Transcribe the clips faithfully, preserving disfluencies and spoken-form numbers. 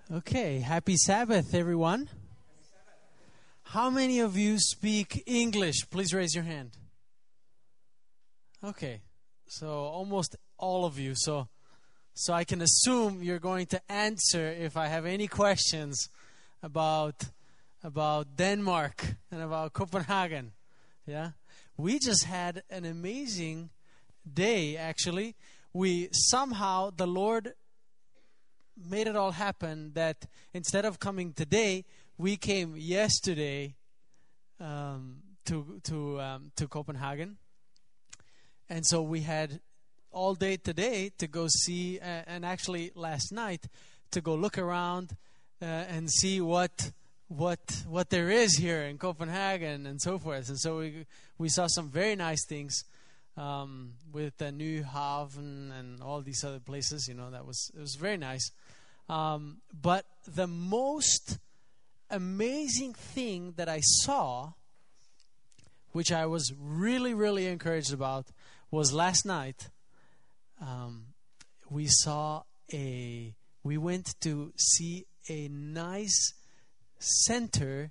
Okay, happy Sabbath, everyone. How many of you speak English? Please raise your hand. Okay, so almost all of you. So, so I can assume you're going to answer if I have any questions about about Denmark and about Copenhagen. Yeah, we just had an amazing day. Actually, we somehow the Lord made it all happen that instead of coming today, we came yesterday um, to to um, to Copenhagen, and so we had all day today to go see, uh, and actually last night to go look around uh, and see what what what there is here in Copenhagen and so forth. And so we we saw some very nice things um, with the New Haven and all these other places. You know, that was it was very nice. Um, but the most amazing thing that I saw, which I was really, really encouraged about, was last night. Um, we saw a, we went to see a nice center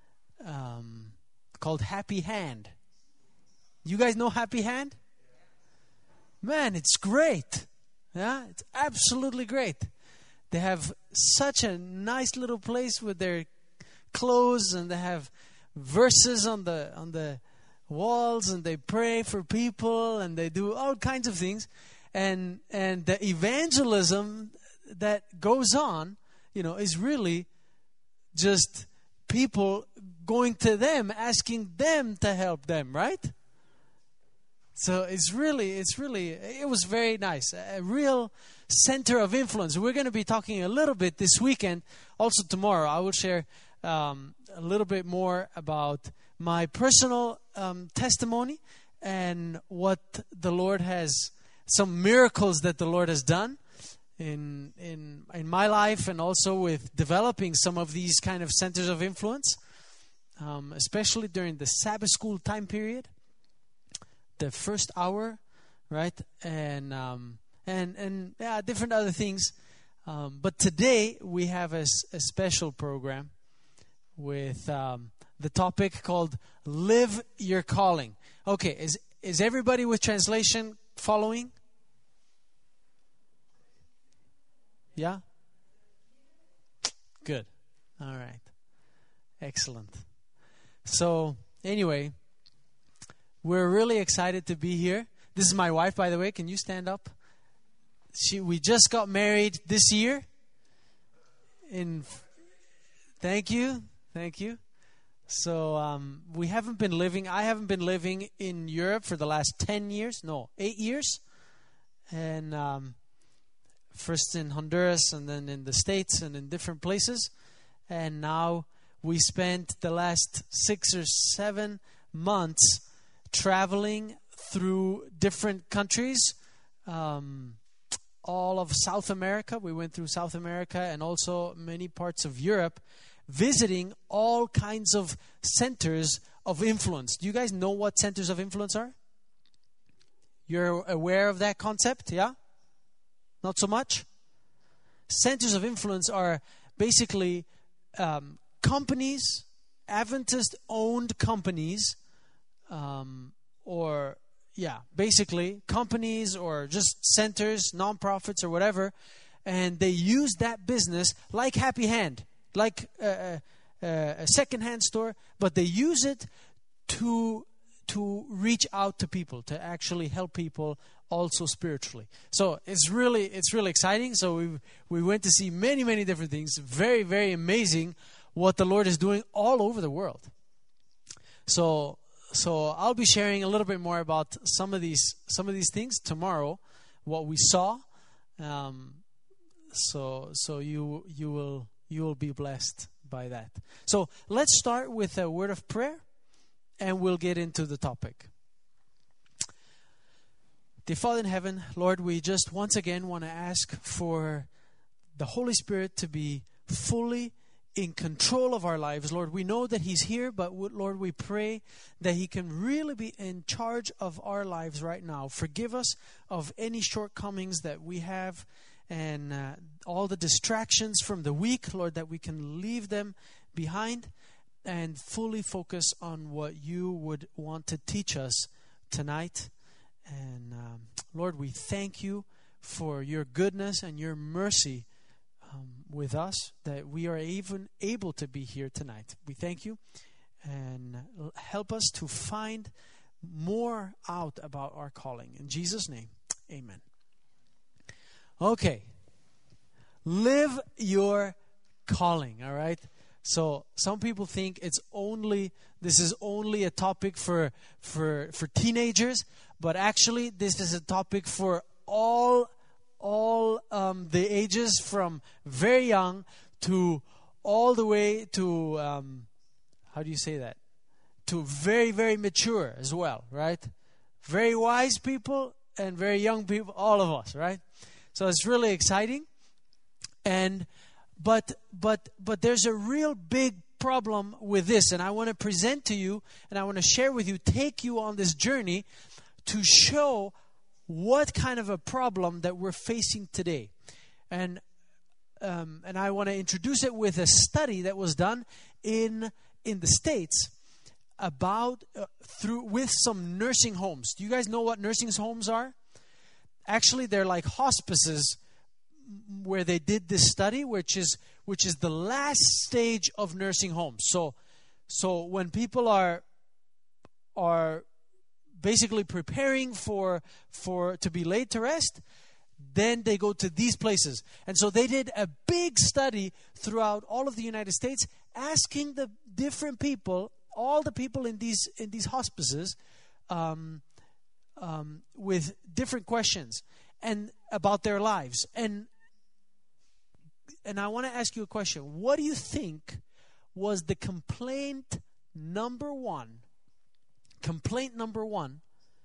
um, called Happy Hand. You guys know Happy Hand? Man, it's great. Yeah, it's absolutely great. They have such a nice little place with their clothes, and they have verses on the on the walls, and they pray for people, and they do all kinds of things, and and the evangelism that goes on, you know, is really just people going to them, asking them to help them, right? So it's really, it's really, it was very nice. A real center of influence. We're going to be talking a little bit this weekend. Also tomorrow, I will share um, a little bit more about my personal um, testimony and what the Lord has, some miracles that the Lord has done in in in my life, and also with developing some of these kind of centers of influence, um, especially during the Sabbath school time period. The first hour, right, and um, and and yeah, different other things. Um, but today we have a, a special program with um, the topic called "Live Your Calling." Okay, is is everybody with translation following? Yeah. Good. All right. Excellent. So anyway. We're really excited to be here. This is my wife, by the way. Can you stand up? She, we just got married this year. In, thank you, thank you. So um, we haven't been living. I haven't been living in Europe for the last ten years. No, eight years. And um, first in Honduras, and then in the States, and in different places. And now we spent the last six or seven months traveling through different countries, um, all of South America. We went through South America and also many parts of Europe, visiting all kinds of centers of influence. Do you guys know what centers of influence are? You're aware of that concept, yeah? Not so much? Centers of influence are basically um, companies, Adventist-owned companies, Um, or, yeah, basically companies or just centers, nonprofits or whatever, and they use that business like Happy Hand, like a, a, a second-hand store, but they use it to to reach out to people, to actually help people also spiritually. So it's really it's really exciting. So we we went to see many many different things. Very very amazing what the Lord is doing all over the world. So. So I'll be sharing a little bit more about some of these some of these things tomorrow, what we saw. Um, so so you you will you will be blessed by that. So let's start with a word of prayer, and we'll get into the topic. Dear Father in heaven, Lord, we just once again want to ask for the Holy Spirit to be fully in control of our lives. Lord, we know that He's here, but Lord, we pray that He can really be in charge of our lives right now. Forgive us of any shortcomings that we have, and uh, all the distractions from the week, Lord, that we can leave them behind and fully focus on what you would want to teach us tonight. And um, Lord, we thank you for your goodness and your mercy um, with us, that we are even able to be here tonight. We thank you, and help us to find more out about our calling. In Jesus' name, amen. Okay. Live your calling, all right? So some people think it's only, this is only a topic for for for teenagers, but actually this is a topic for all all um, the ages, from very young to all the way to um, how do you say that? To very very mature as well, right? Very wise people and very young people, all of us, right? So it's really exciting. And but but but there's a real big problem with this, and I want to present to you, and I want to share with you, take you on this journey to show what kind of a problem that we're facing today. And um, and I want to introduce it with a study that was done in in the States about uh, through with some nursing homes. Do you guys know what nursing homes are? Actually, they're like hospices, where they did this study, which is which is the last stage of nursing homes. So, so when people are are basically preparing for for to be laid to rest, then they go to these places. And so they did a big study throughout all of the United States, asking the different people, all the people in these in these hospices, um, um, with different questions and about their lives. And And I want to ask you a question. What do you think was the complaint number one, complaint number one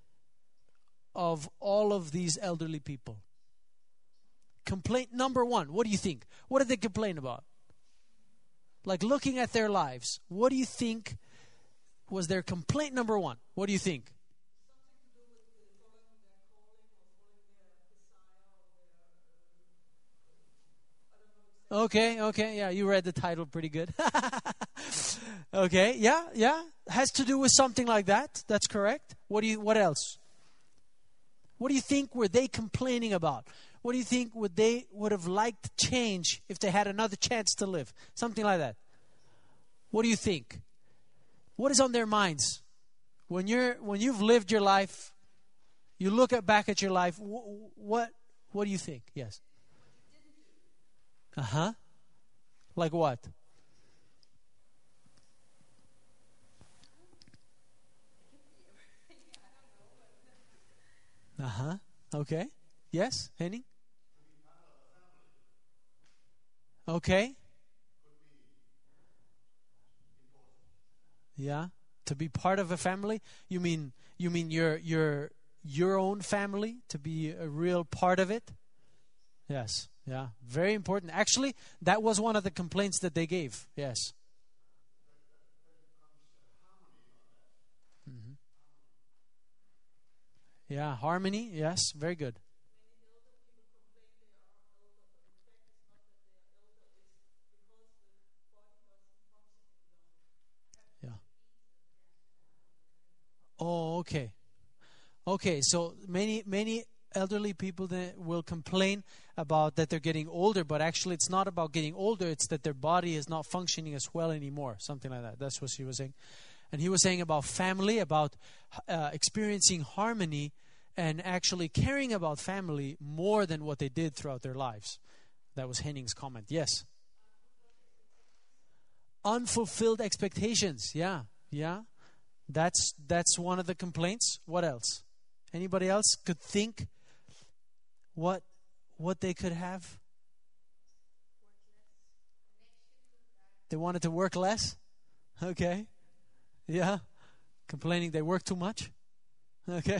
of all of these elderly people? Complaint number one. What do you think? What did they complain about? Like, looking at their lives, what do you think was their complaint number one? What do you think? Okay, okay, yeah, you read the title pretty good. Okay, yeah, yeah, has to do with something like that. That's correct. What do you? What else? What do you think were they complaining about? What do you think would they would have liked to change if they had another chance to live? Something like that. What do you think? What is on their minds when you're when you've lived your life? You look at, back at your life. Wh- what what do you think? Yes. Uh-huh. Like what? Uh-huh. Okay. Yes, Henning? Okay. Yeah. To be part of a family? You mean you mean your your your own family, to be a real part of it? Yes. Yeah, very important. Actually, that was one of the complaints that they gave. Yes. Mm-hmm. Yeah, harmony. Yes, very good. Yeah. Oh, okay. Okay, so many many elderly people that will complain about that they're getting older, but actually it's not about getting older, it's that their body is not functioning as well anymore, something like that. That's what she was saying. And he was saying about family, about uh, experiencing harmony and actually caring about family more than what they did throughout their lives. That was Henning's comment. Yes. Unfulfilled expectations. Yeah, yeah. That's that's one of the complaints. What else? Anybody else could think what what they could have? They wanted to work less? Okay. Yeah. Complaining they work too much? Okay.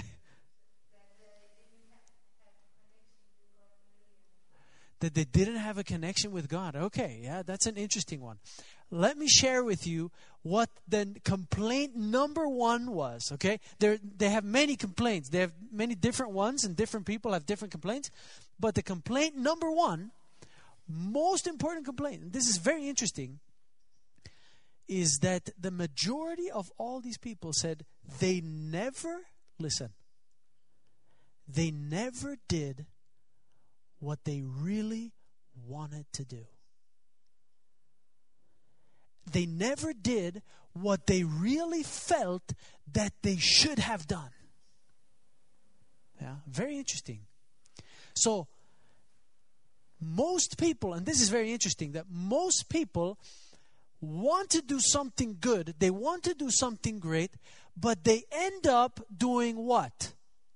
That they didn't have a connection with God. Okay, yeah, that's an interesting one. let me share with you what the complaint number one was, okay? They they have many complaints. They have many different ones, and different people have different complaints. But the complaint number one, most important complaint, and this is very interesting, is that the majority of all these people said they never, listen, they never did what they really wanted to do. They never did what they really felt that they should have done. Yeah, very interesting. So, most people, and this is very interesting, that most people want to do something good, they want to do something great, but they end up doing what?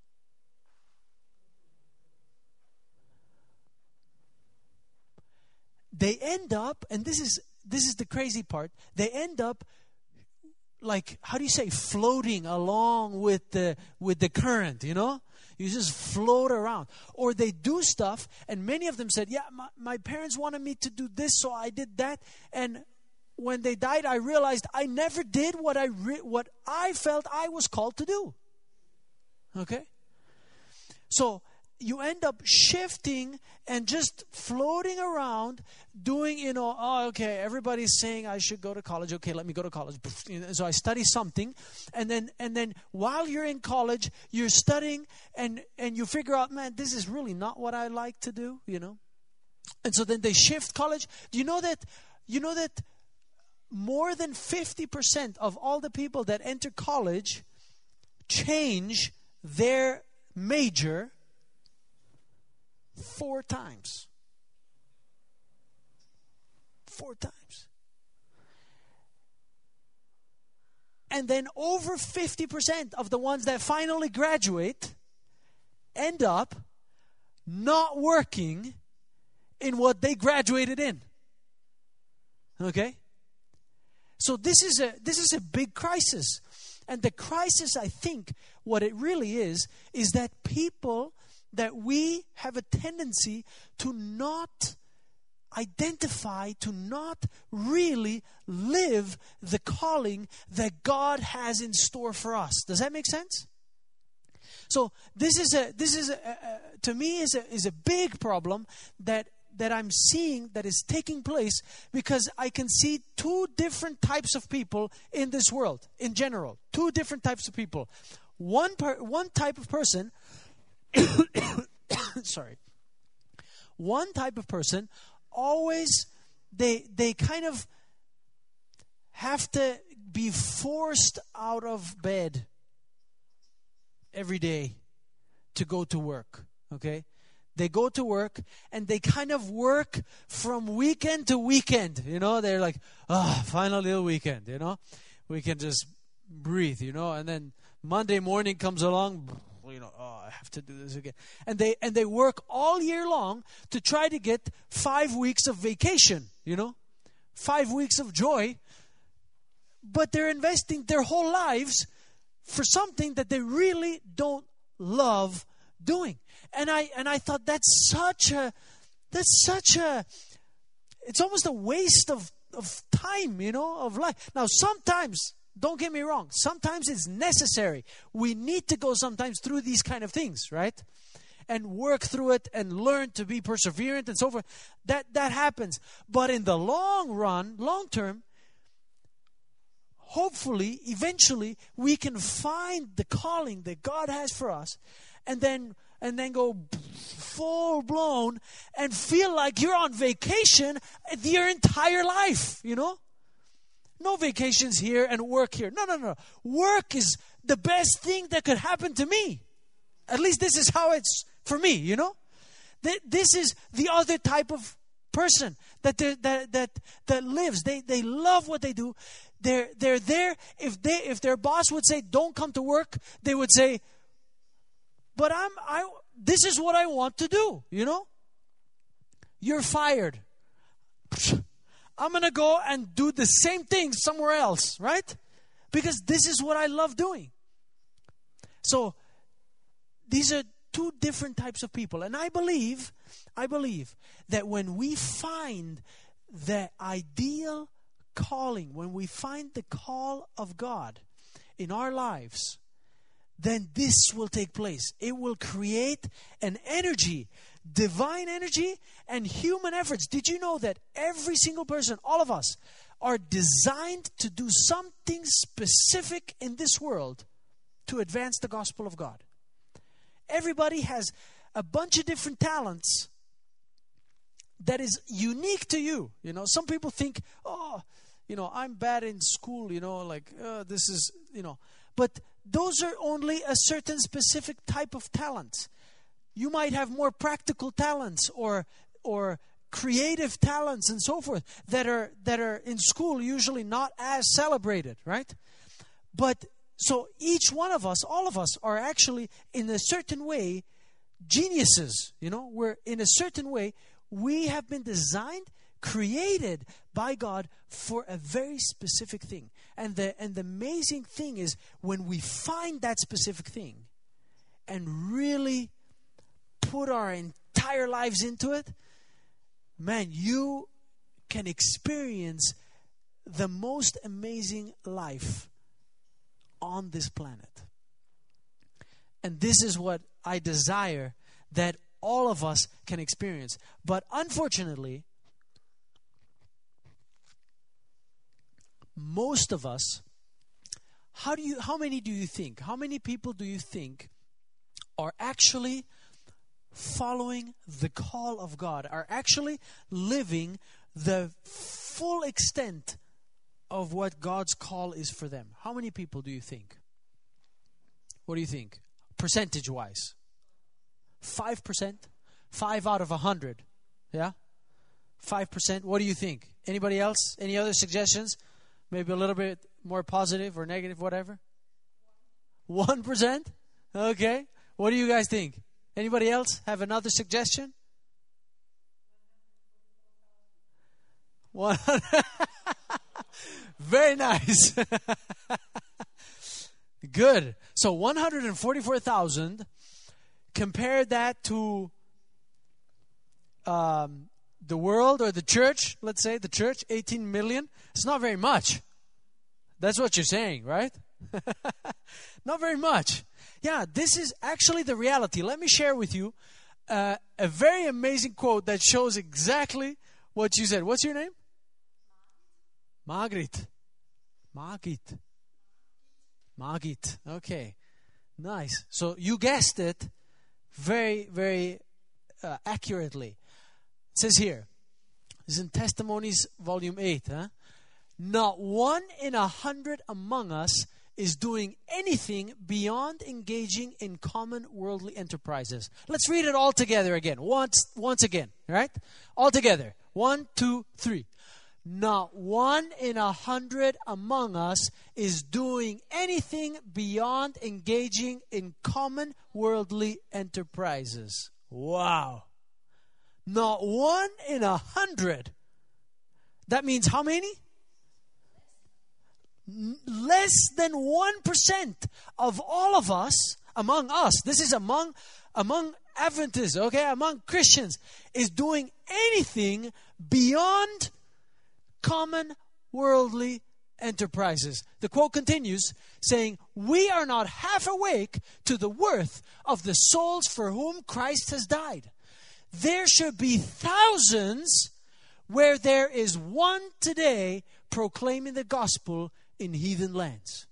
They end up, and this is this is the crazy part, they end up like, how do you say, floating along with the with the current, you know? You just float around. Or they do stuff, and many of them said, yeah, my, my parents wanted me to do this, so I did that. And when they died, I realized I never did what I re- what I felt I was called to do. Okay? So you end up shifting and just floating around, doing, you know, oh, okay, everybody's saying I should go to college. Okay, let me go to college. So I study something, and then and then while you're in college, you're studying, and and you figure out, man, this is really not what I like to do, you know. And so then they shift college. Do you know that? You know that more than fifty percent of all the people that enter college change their major four times. Four times. And then over fifty percent of the ones that finally graduate end up not working in what they graduated in. Okay? So this is a this is a big crisis. And the crisis, I think, what it really is, is that people, that we have a tendency to not identify, to not really live the calling that God has in store for us. Does that make sense? So this is a this is a, a, to me is a is a big problem that that I'm seeing that is taking place, because I can see two different types of people in this world in general. Two different types of people. One per, one type of person sorry. One type of person always they they kind of have to be forced out of bed every day to go to work, okay? They go to work and they kind of work from weekend to weekend, you know? They're like, ah, oh, final little weekend, you know? We can just breathe, you know? And then Monday morning comes along, you know, oh, I have to do this again. And they and they work all year long to try to get five weeks of vacation, you know? Five weeks of joy. But they're investing their whole lives for something that they really don't love doing. And I and I thought that's such a that's such a it's almost a waste of, of time, you know, of life. Now sometimes, don't get me wrong, sometimes it's necessary. We need to go sometimes through these kind of things, right? And work through it and learn to be perseverant and so forth. That that happens. But in the long run, long term, hopefully, eventually, we can find the calling that God has for us, and then and then go full blown and feel like you're on vacation your entire life, you know? No vacations here and work here. No, no, no. Work is the best thing that could happen to me. At least this is how it's for me, you know? This is the other type of person that that that that lives. They they love what they do. They're they're there. If they if their boss would say don't come to work, they would say, but I'm I this is what I want to do, you know? You're fired. I'm going to go and do the same thing somewhere else, right? Because this is what I love doing. So these are two different types of people. And I believe, I believe that when we find the ideal calling, when we find the call of God in our lives, then this will take place. It will create an energy, divine energy and human efforts. Did you know that every single person, all of us, are designed to do something specific in this world to advance the gospel of God? Everybody has a bunch of different talents that is unique to you. You know, some people think, oh, you know, I'm bad in school, you know, like, uh, this is, you know. But those are only a certain specific type of talent. You might have more practical talents or or creative talents and so forth that are that are in school usually not as celebrated, right? But so each one of us, all of us, are actually in a certain way geniuses. You know, we're in a certain way, we have been designed, created by God for a very specific thing. And the and the amazing thing is when we find that specific thing and really put our entire lives into it, man, you can experience the most amazing life on this planet. And this is what I desire that all of us can experience. But unfortunately, most of us, how do you how many do you think? How many people do you think are actually following the call of God, are actually living the full extent of what God's call is for them? How many people do you think? What do you think? Percentage-wise? Five percent? Five out of a hundred. Yeah? Five percent. What do you think? Anybody else? Any other suggestions? Maybe a little bit more positive or negative, whatever? One percent? Okay. What do you guys think? Anybody else have another suggestion? One. Very nice. Good. So one hundred forty-four thousand. Compare that to um, the world or the church. Let's say the church, eighteen million. It's not very much. That's what you're saying, right? Not very much. Yeah, this is actually the reality. Let me share with you uh, a very amazing quote that shows exactly what you said. What's your name? Margit. Margit. Margit. Okay. Nice. So you guessed it very, very uh, accurately. It says here, this is in Testimonies, Volume eight. Huh? Not one in a hundred among us is doing anything beyond engaging in common worldly enterprises. Let's read it all together again. Once, once again, right? All together. One, two, three. Not one in a hundred among us is doing anything beyond engaging in common worldly enterprises. Wow. Not one in a hundred. That means how many? Less than one percent of all of us, among us, this is among among Adventists, okay, among Christians, is doing anything beyond common worldly enterprises. The quote continues saying, we are not half awake to the worth of the souls for whom Christ has died. There should be thousands where there is one today proclaiming the gospel in heathen lands.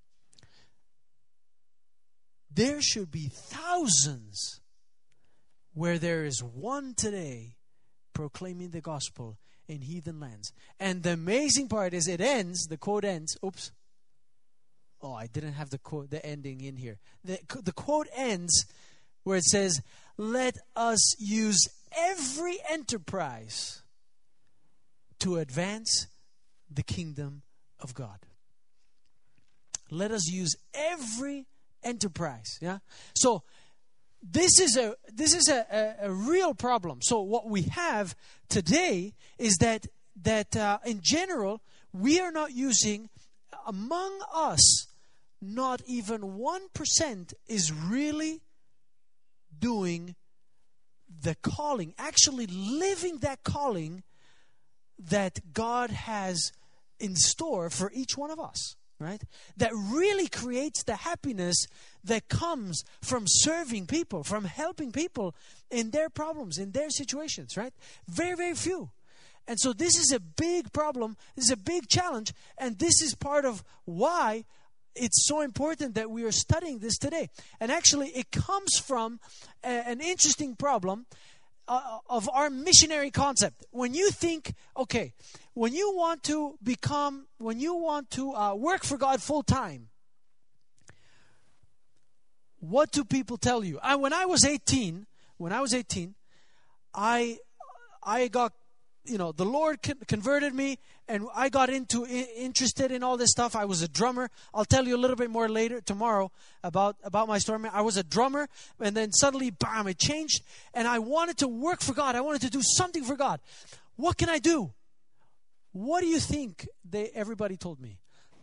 There should be thousands where there is one today proclaiming the gospel in heathen lands. And the amazing part is it ends, the quote ends, oops. Oh, I didn't have the quote, the ending in here. The, the quote ends where it says, let us use every enterprise to advance the kingdom of God. Let us use every enterprise. Yeah. So this is a this is a, a, a real problem. So what we have today is that that uh, in general we are not using, among us, not even one percent is really doing the calling, actually living that calling that God has in store for each one of us, right? That really creates the happiness that comes from serving people, from helping people in their problems, in their situations, right? Very, very few. And so this is a big problem. This is a big challenge. And this is part of why it's so important that we are studying this today. And actually, it comes from a, an interesting problem uh, of our missionary concept. When you think, okay, when you want to become, when you want to uh, work for God full time, what do people tell you? I, when I was eighteen, when I was eighteen, I I got, you know, the Lord converted me, and I got into interested in all this stuff. I was a drummer. I'll tell you a little bit more later tomorrow about about my story. I was a drummer, and then suddenly, bam, it changed, and I wanted to work for God. I wanted to do something for God. What can I do? What do you think they everybody told me?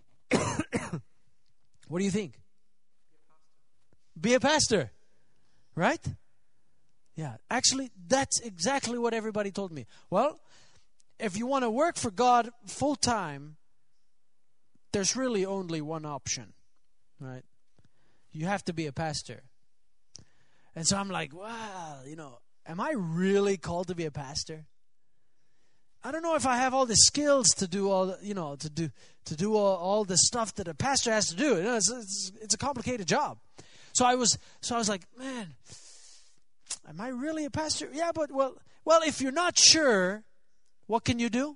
What do you think? Be a pastor, right? Yeah, actually, that's exactly what everybody told me. Well, if you want to work for God full time, there's really only one option, right? You have to be a pastor. And so I'm like, wow, you know, am I really called to be a pastor? I don't know if I have all the skills to do all, the, you know, to do to do all, all the stuff that a pastor has to do. You know, it's, it's it's a complicated job. So I was so I was like, man, am I really a pastor? Yeah, but well, well, if you're not sure, what can you do?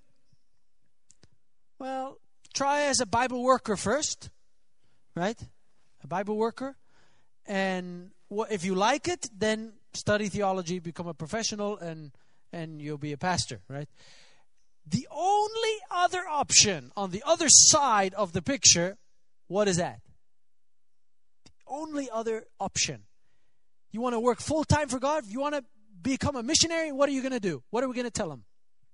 Well, try as a Bible worker first, right? A Bible worker, and what, if you like it, then study theology, become a professional, and and you'll be a pastor, right? The only other option on the other side of the picture, what is that? The only other option. You want to work full time for God? You want to become a missionary? What are you going to do? What are we going to tell them?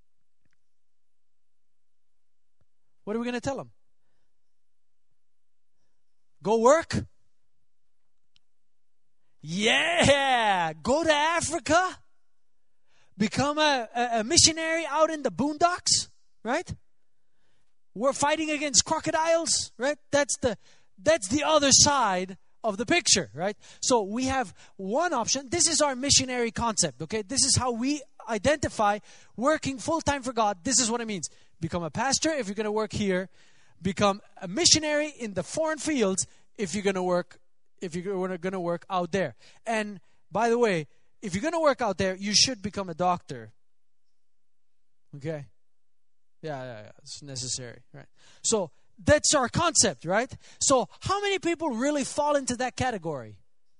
What are we going to tell them? Go work? Yeah! Go to Africa? Become a, a, a missionary out in the boondocks? Right? We're fighting against crocodiles? Right? That's the that's the other side of the picture, right? So we have one option. This is our missionary concept, okay? This is how we identify working full-time for God. This is what it means. Become a pastor if you're going to work here. Become a missionary in the foreign fields if you're going to work if you're going to work out there. And by the way, if you're going to work out there, you should become a doctor. Okay? Yeah, yeah, yeah. It's necessary, right? So that's our concept, right? So how many people really fall into that category?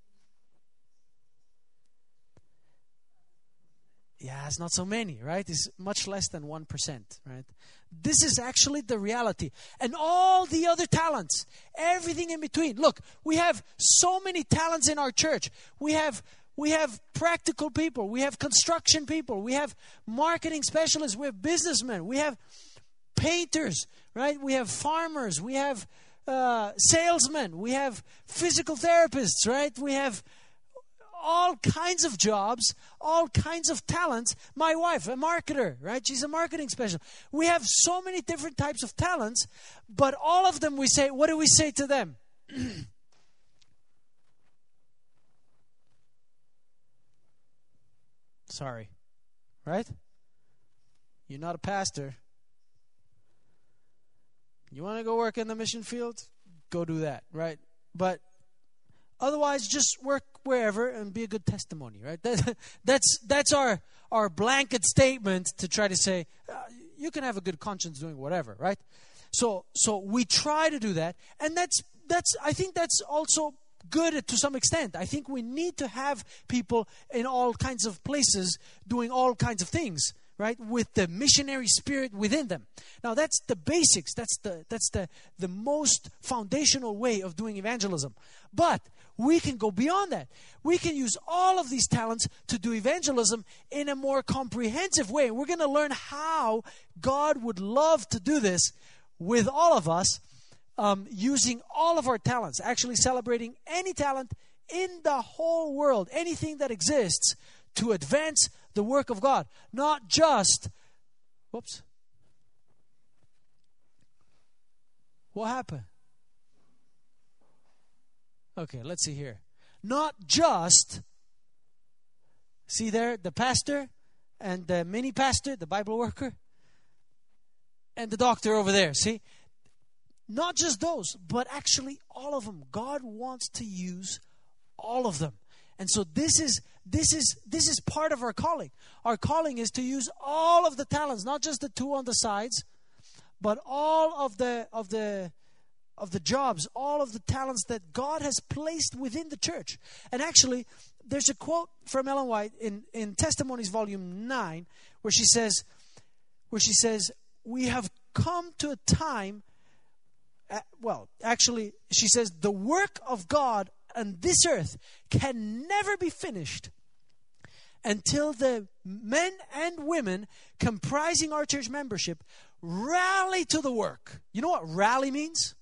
Yeah, it's not so many, right? It's much less than one percent, right? This is actually the reality. And all the other talents, everything in between. Look, we have so many talents in our church. We have we have practical people. We have construction people. We have marketing specialists. We have businessmen. We have painters, right? We have farmers. We have uh, salesmen. We have physical therapists, right? We have all kinds of jobs, all kinds of talents. My wife, a marketer, right? She's a marketing specialist. We have so many different types of talents, but all of them we say, what do we say to them? Sorry, right? You're not a pastor. You want to go work in the mission field? Go do that, right? But otherwise, just work wherever and be a good testimony, right? That, that's that's our our blanket statement to try to say uh, you can have a good conscience doing whatever, right? So so we try to do that, and that's that's I think that's also good to some extent. I think we need to have people in all kinds of places doing all kinds of things, right? With the missionary spirit within them. Now that's the basics. That's the that's the the most foundational way of doing evangelism. But we can go beyond that. We can use all of these talents to do evangelism in a more comprehensive way. We're going to learn how God would love to do this with all of us, um, using all of our talents, actually celebrating any talent in the whole world, anything that exists to advance the work of God. Not just, whoops, What happened? Okay, let's see here. Not just, see there, the pastor and the mini pastor, the Bible worker, and the doctor over there, see? Not just those, but actually all of them. God wants to use all of them. And so this is this is this is part of our calling. Our calling is to use all of the talents, not just the two on the sides, but all of the of the of the jobs, all of the talents that God has placed within the church. And actually, there's a quote from Ellen White in, in Testimonies Volume nine where she says, where she says, we have come to a time, uh, well, actually, she says, the work of God on this earth can never be finished until the men and women comprising our church membership rally to the work. You know what rally means?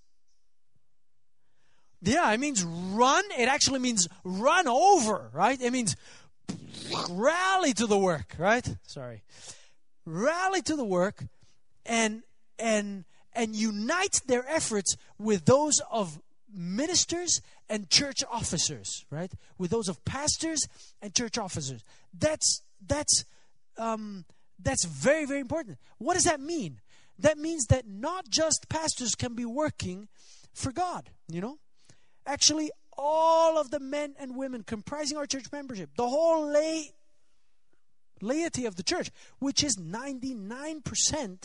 Yeah, it means run. It actually means run over, right? It means rally to the work, right? Sorry. Rally to the work and and and unite their efforts with those of ministers and church officers, right? With those of pastors and church officers. That's that's um, that's very, very important. What does that mean? That means that not just pastors can be working for God, you know? Actually, all of the men and women comprising our church membership, the whole lay, laity of the church, which is ninety-nine percent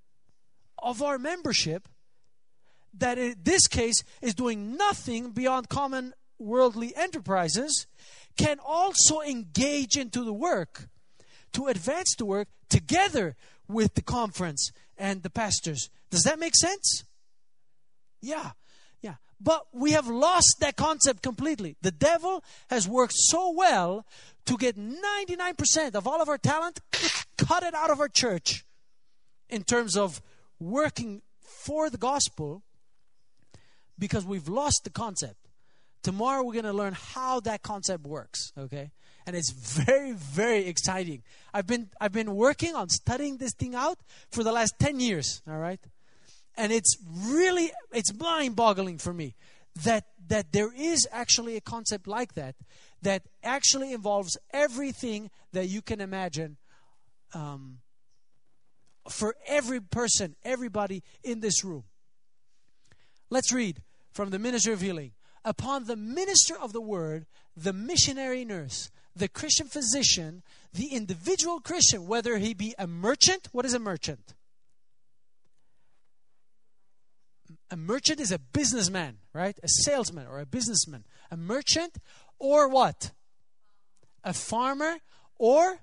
of our membership, that in this case is doing nothing beyond common worldly enterprises, can also engage into the work to advance the work together with the conference and the pastors. Does that make sense? Yeah. Yeah, but we have lost that concept completely. The devil has worked so well to get ninety-nine percent of all of our talent, cut it out of our church in terms of working for the gospel, because we've lost the concept. Tomorrow we're going to learn how that concept works, okay? And it's very, very exciting. I've been I've been working on studying this thing out for the last ten years, all right? And it's really, it's mind-boggling for me that that there is actually a concept like that, that actually involves everything that you can imagine um, for every person, everybody in this room. Let's read from the Minister of Healing. Upon the minister of the word, the missionary nurse, the Christian physician, the individual Christian, whether he be a merchant. What is a merchant? A merchant is a businessman, right? A salesman or a businessman. A merchant or what? A farmer or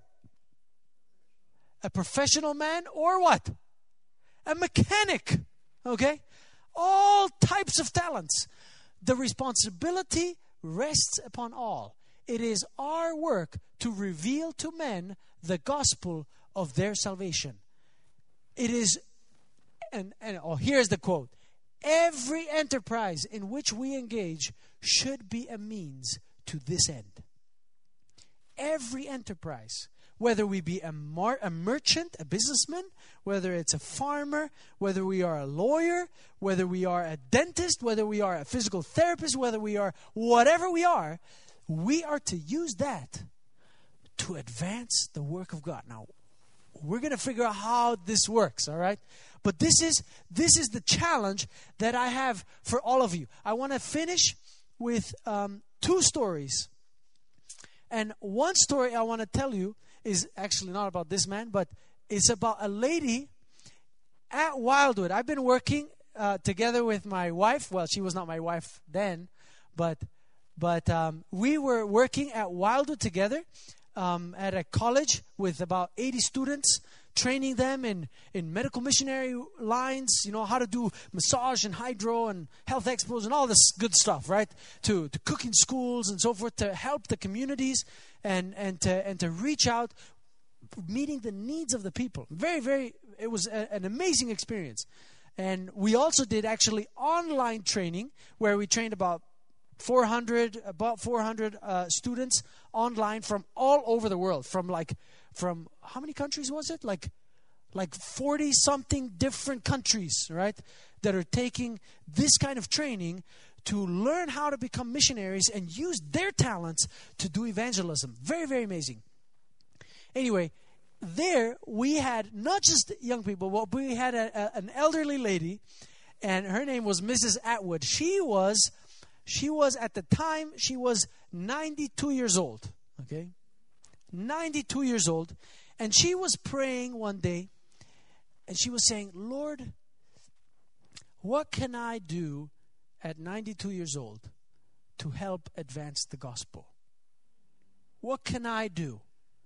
a professional man or what? A mechanic, okay? All types of talents. The responsibility rests upon all. It is our work to reveal to men the gospel of their salvation. It is, and, and oh, here's the quote. Every enterprise in which we engage should be a means to this end. Every enterprise, whether we be a, mar- a merchant, a businessman, whether it's a farmer, whether we are a lawyer, whether we are a dentist, whether we are a physical therapist, whether we are whatever we are, we are to use that to advance the work of God. Now, we're going to figure out how this works, all right? But this is this is the challenge that I have for all of you. I want to finish with um, two stories. And one story I want to tell you is actually not about this man, but it's about a lady at Wildwood. I've been working uh, together with my wife. Well, she was not my wife then, but but um, we were working at Wildwood together um, at a college with about eighty students, training them in, in medical missionary lines, you know, how to do massage and hydro and health expos and all this good stuff, right? To to cook in schools and so forth, to help the communities and, and, to, and to reach out, meeting the needs of the people. Very, very, it was a, an amazing experience. And we also did actually online training where we trained about four hundred, about four hundred uh, students online from all over the world. From like, from how many countries was it? Like, like forty something different countries, right, that are taking this kind of training to learn how to become missionaries and use their talents to do evangelism. Very, very amazing. Anyway, there we had not just young people, but we had a, a, an elderly lady, and her name was Missus Atwood. She was, she was at the time, she was ninety-two years old, okay? ninety-two years old. And she was praying one day, and she was saying, Lord, what can I do at ninety-two years old to help advance the gospel? What can I do?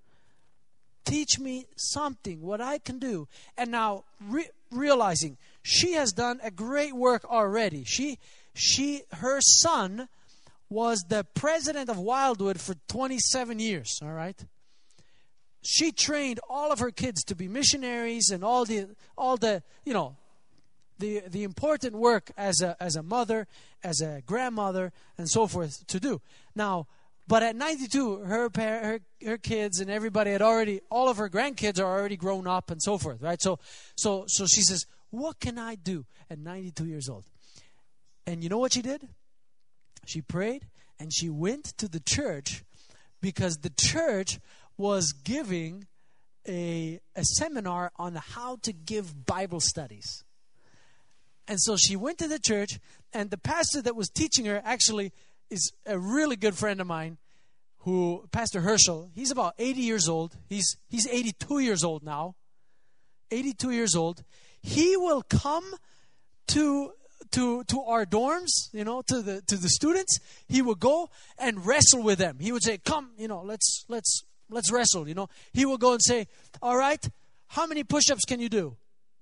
Teach me something, what I can do. And now re- realizing she has done a great work already. She, she, her son was the president of Wildwood for twenty-seven years, all right? She trained all of her kids to be missionaries and all the, all the, you know, the the important work as a as a mother, as a grandmother, and so forth to do. Now, but at ninety-two, her par- her her kids and everybody had already, all of her grandkids are already grown up and so forth, right? So so so she says, what can I do at ninety-two years old? And you know what she did? She prayed and she went to the church, because the church was giving a a seminar on how to give Bible studies. And so she went to the church, and the pastor that was teaching her actually is a really good friend of mine, who, Pastor Herschel. He's about eighty years old. He's he's eighty-two years old now. eighty-two years old. He will come to to to our dorms, you know, to the to the students. He would go and wrestle with them. He would say, "Come, you know, let's let's let's wrestle." You know, he will go and say, "All right, how many push-ups can you do?"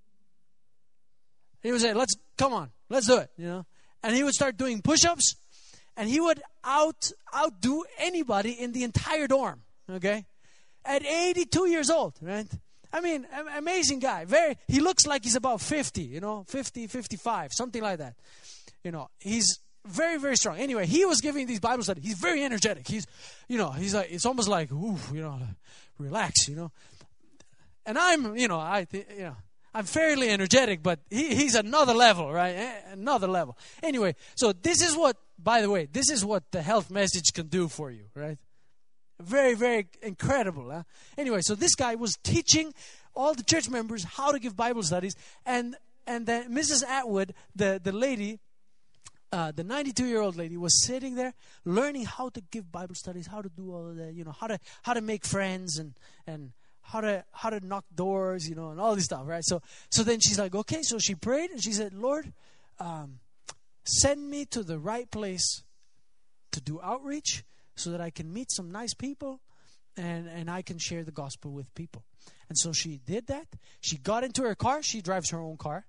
He would say, "Let's come on, let's do it." You know, and he would start doing push-ups, and he would out outdo anybody in the entire dorm. Okay, at eighty-two years old, right? I mean, amazing guy. Very. He looks like he's about fifty. You know, fifty, fifty-five, something like that. You know, he's very, very strong. Anyway, he was giving these Bible studies. He's very energetic. He's, you know, he's like, it's almost like, ooh, you know, relax. You know, and I'm, you know, I, you know. I'm fairly energetic, but he, he's another level, right? Another level. Anyway, so this is what, by the way, this is what the health message can do for you, right? Very, very incredible. Huh? Anyway, so this guy was teaching all the church members how to give Bible studies, and and then Missus Atwood, the the lady, uh, the ninety-two-year-old lady, was sitting there learning how to give Bible studies, how to do all of that, you know, how to how to make friends and and. How to how to knock doors, you know, and all this stuff, right? So so then she's like, okay. So she prayed and she said, Lord, um, send me to the right place to do outreach, so that I can meet some nice people, and and I can share the gospel with people. And so she did that. She got into her car. She drives her own car,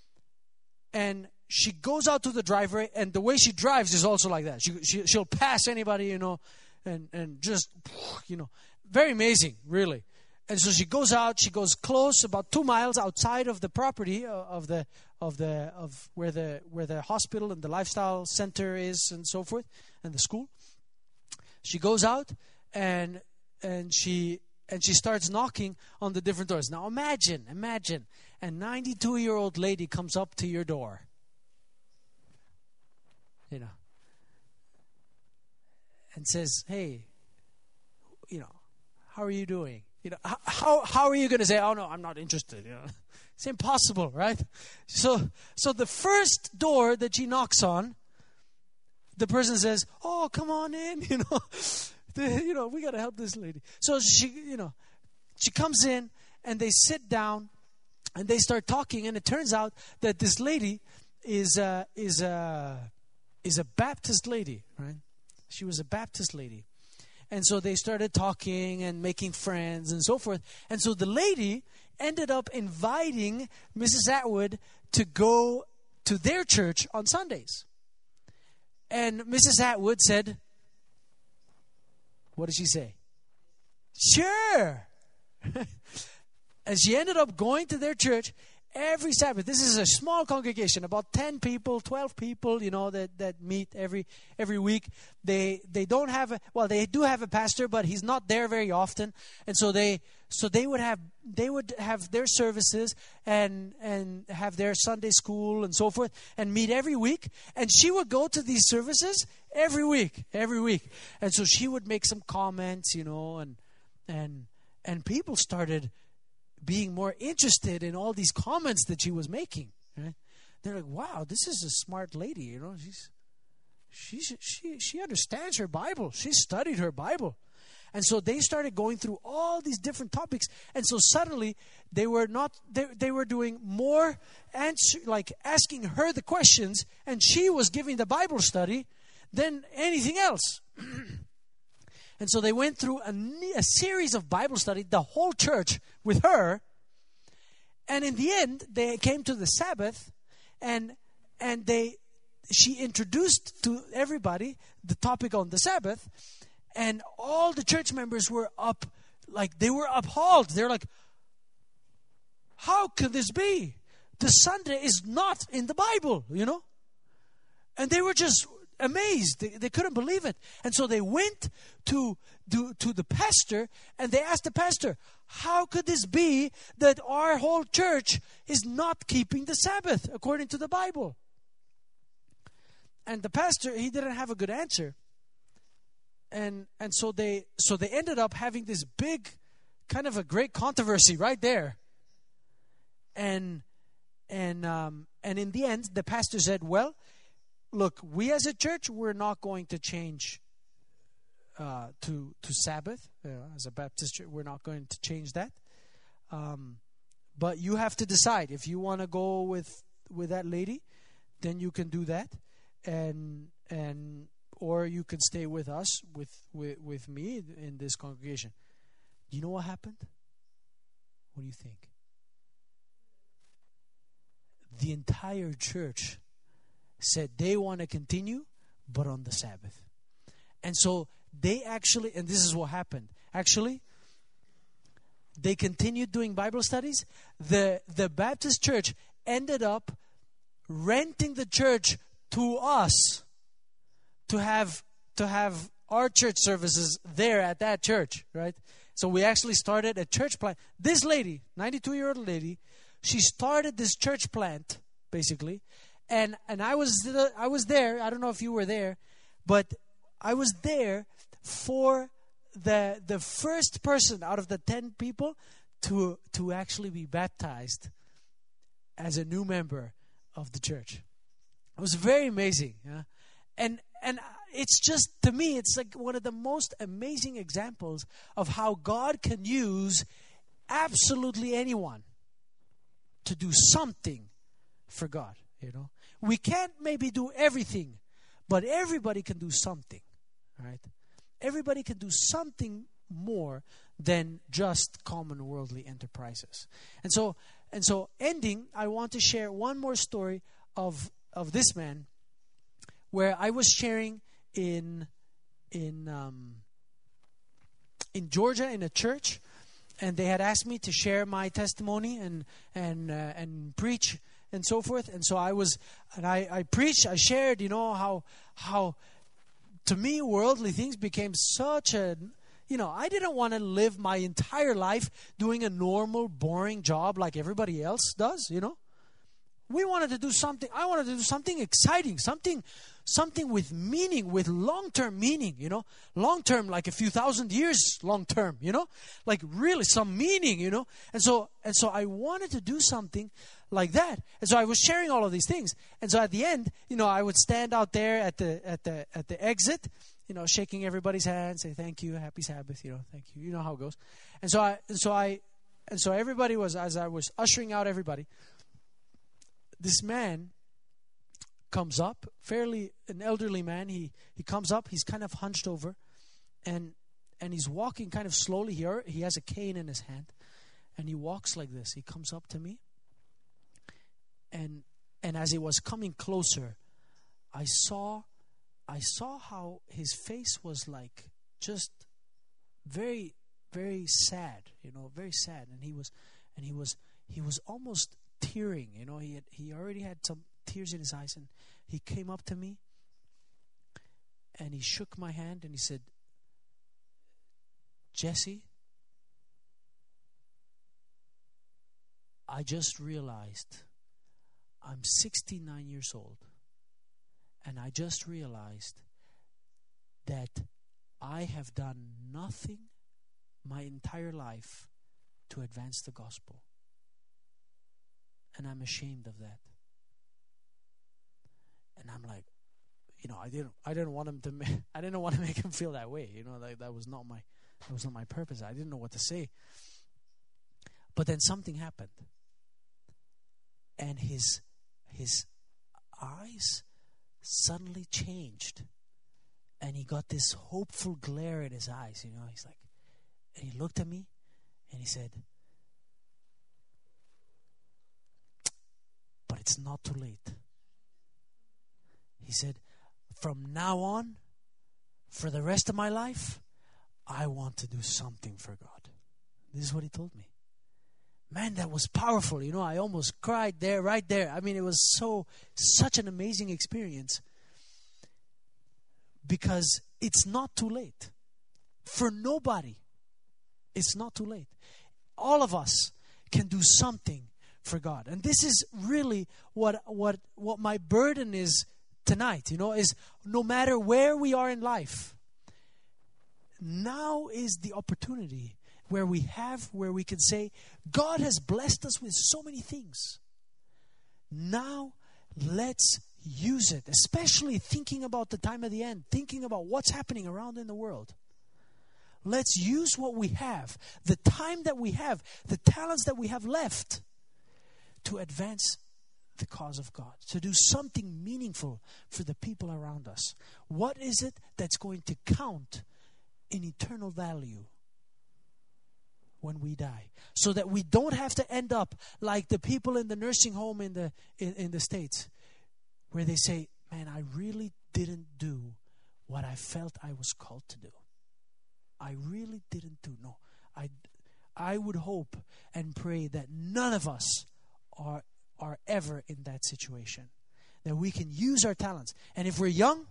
and she goes out to the driveway. And the way she drives is also like that. She, she she'll pass anybody, you know, and and just, you know, very amazing, really. And so she goes out. She goes close, about two miles outside of the property of the of the of where the where the hospital and the lifestyle center is, and so forth, and the school. She goes out and and she and she starts knocking on the different doors. Now imagine, imagine, a ninety-two-year-old lady comes up to your door. You know, and says, "Hey, you know, how are you doing?" You know, how how are you going to say, "Oh no, I'm not interested"? You know, it's impossible, right? So so the first door that she knocks on, the person says, "Oh, come on in," you know, the, you know, we got to help this lady. So she, you know, she comes in and they sit down and they start talking, and it turns out that this lady is uh, is a is a Baptist lady, right? She was a Baptist lady. And so they started talking and making friends and so forth. And so the lady ended up inviting Missus Atwood to go to their church on Sundays. And Missus Atwood said, what did she say? Sure. And she ended up going to their church. every Sabbath. This is a small congregation, about ten people, twelve people, you know, that, that meet every every week. They they don't have a, well, they do have a pastor, but he's not there very often. And so they so they would have they would have their services and and have their Sunday school and so forth and meet every week. And she would go to these services every week, every week. And so she would make some comments, you know, and and and people started being more interested in all these comments that she was making. Right? They're like, "Wow, this is a smart lady. You know, she's she she she understands her Bible. She studied her Bible." And so they started going through all these different topics. And so suddenly they were not they they were doing more answer, like asking her the questions, and she was giving the Bible study than anything else. And so they went through a, a series of Bible study, the whole church with her. And in the end, they came to the Sabbath, and and they she introduced to everybody the topic on the Sabbath, and all the church members were up, like they were appalled. They're like, "How could this be? The Sunday is not in the Bible, you know?" And they were just amazed. They, they couldn't believe it. And so they went to, to to the pastor, and they asked the pastor, "How could this be that our whole church is not keeping the Sabbath according to the Bible?" And the pastor, he didn't have a good answer. And and so they so they ended up having this big kind of a great controversy right there. And and um, and in the end, the pastor said, "Well, look, we as a church, we're not going to change uh, to to Sabbath. Uh, as a Baptist church, we're not going to change that. Um, but you have to decide. If you want to go with with that lady, then you can do that, and and or you can stay with us, with with, with me in this congregation." Do you know what happened? What do you think? The entire church said they want to continue, but on the Sabbath. And so they actually, and this is what happened. Actually, they continued doing Bible studies. The, the Baptist church ended up renting the church to us to have to have our church services there at that church, right? So we actually started a church plant. This lady, ninety-two-year-old lady, she started this church plant, basically. And and I was I was there. I don't know if you were there, but I was there for the the first person out of the ten people to to actually be baptized as a new member of the church. It was very amazing, yeah? and and it's just, to me, it's like one of the most amazing examples of how God can use absolutely anyone to do something for God. You know, we can't maybe do everything, but everybody can do something, right? Everybody can do something more than just common worldly enterprises. And so, and so, ending, I want to share one more story of of this man, where I was sharing in in um, in Georgia in a church, and they had asked me to share my testimony and and uh, and preach and so forth. And so I was, and I, I preached, I shared, you know, how, how to me, worldly things became such a, you know, I didn't want to live my entire life doing a normal, boring job like everybody else does, you know. We wanted to do something, I wanted to do something exciting, something, something with meaning, with long-term meaning, you know. Long-term, like a few thousand years long-term, you know. Like really some meaning, you know. And so, and so I wanted to do something like that. And so I was sharing all of these things. And so at the end, you know, I would stand out there at the at the at the exit, you know, shaking everybody's hand, say thank you, happy Sabbath, you know, thank you. You know how it goes. And so I and so I and so everybody was, as I was ushering out everybody, this man comes up, fairly an elderly man. He he comes up, he's kind of hunched over, and and he's walking kind of slowly here. He has a cane in his hand, and he walks like this. He comes up to me. And and as he was coming closer, I saw I saw how his face was like just very, very sad, you know, very sad. And he was and he was he was almost tearing. You know, he had, he already had some tears in his eyes, and he came up to me and he shook my hand and he said, Jesse, I just realized I'm sixty-nine years old, and I just realized that I have done nothing my entire life to advance the gospel. And I'm ashamed of that. And I'm like, you know, I didn't I didn't want him to ma- I didn't want to make him feel that way. You know, like that was not my that was not my purpose. I didn't know what to say. But then something happened. And his his eyes suddenly changed. And he got this hopeful glare in his eyes, you know. He's like, and he looked at me and he said, but it's not too late. He said, from now on, for the rest of my life, I want to do something for God. This is what he told me. Man, that was powerful. You know, I almost cried there, right there. I mean, it was so, such an amazing experience. Because it's not too late. For nobody, it's not too late. All of us can do something for God. And this is really what what what my burden is tonight, you know, is no matter where we are in life, now is the opportunity where we have, where we can say, God has blessed us with so many things. Now, let's use it, especially thinking about the time of the end, thinking about what's happening around in the world. Let's use what we have, the time that we have, the talents that we have left to advance the cause of God, to do something meaningful for the people around us. What is it that's going to count in eternal value when we die? So that we don't have to end up like the people in the nursing home in the in, in the States, where they say, man, I really didn't do what I felt I was called to do. I really didn't do. No, I, I would hope and pray that none of us are, are ever in that situation. That we can use our talents. And if we're young,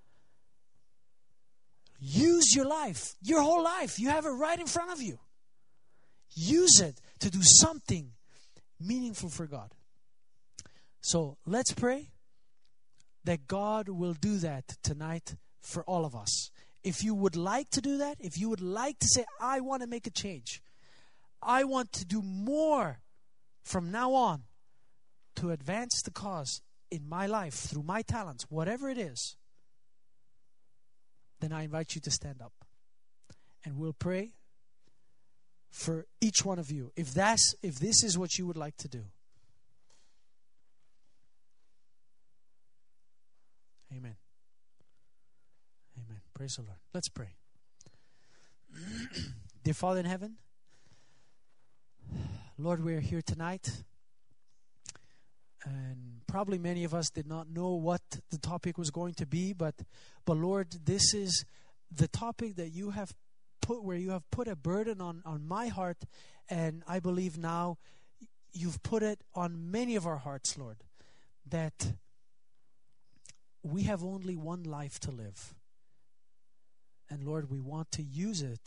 use your life, your whole life. You have it right in front of you. Use it to do something meaningful for God. So let's pray that God will do that tonight for all of us. If you would like to do that, if you would like to say, I want to make a change, I want to do more from now on to advance the cause in my life through my talents, whatever it is, then I invite you to stand up. And we'll pray for each one of you, if that's if this is what you would like to do. Amen. Amen. Praise the Lord. Let's pray. Dear Father in heaven, Lord, we are here tonight, and probably many of us did not know what the topic was going to be, but but Lord, this is the topic that you have put, where you have put a burden on, on my heart, and I believe now you've put it on many of our hearts, Lord, that we have only one life to live. And Lord, we want to use it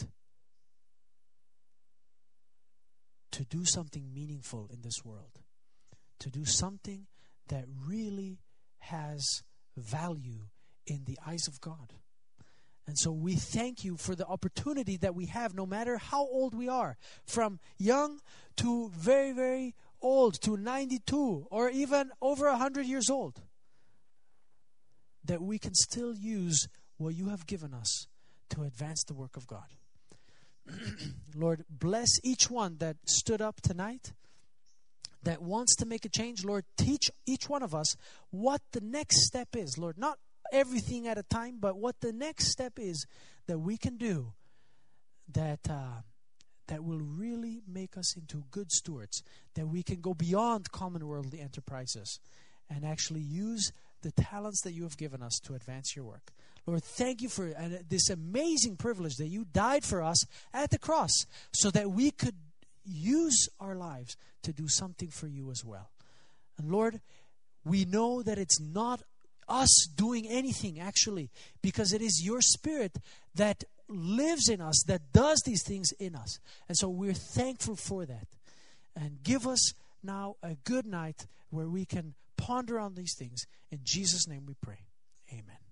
to do something meaningful in this world, to do something that really has value in the eyes of God. And so we thank you for the opportunity that we have, no matter how old we are, from young to very, very old, to ninety-two, or even over one hundred years old, that we can still use what you have given us to advance the work of God. Lord, bless each one that stood up tonight, that wants to make a change. Lord, teach each one of us what the next step is. Lord, not everything at a time, but what the next step is that we can do that uh, that will really make us into good stewards, that we can go beyond common worldly enterprises and actually use the talents that you have given us to advance your work. Lord, thank you for uh, this amazing privilege that you died for us at the cross so that we could use our lives to do something for you as well. And Lord, we know that it's not us doing anything actually, because it is your Spirit that lives in us, that does these things in us. And so we're thankful for that. And give us now a good night where we can ponder on these things. In Jesus' name we pray. Amen.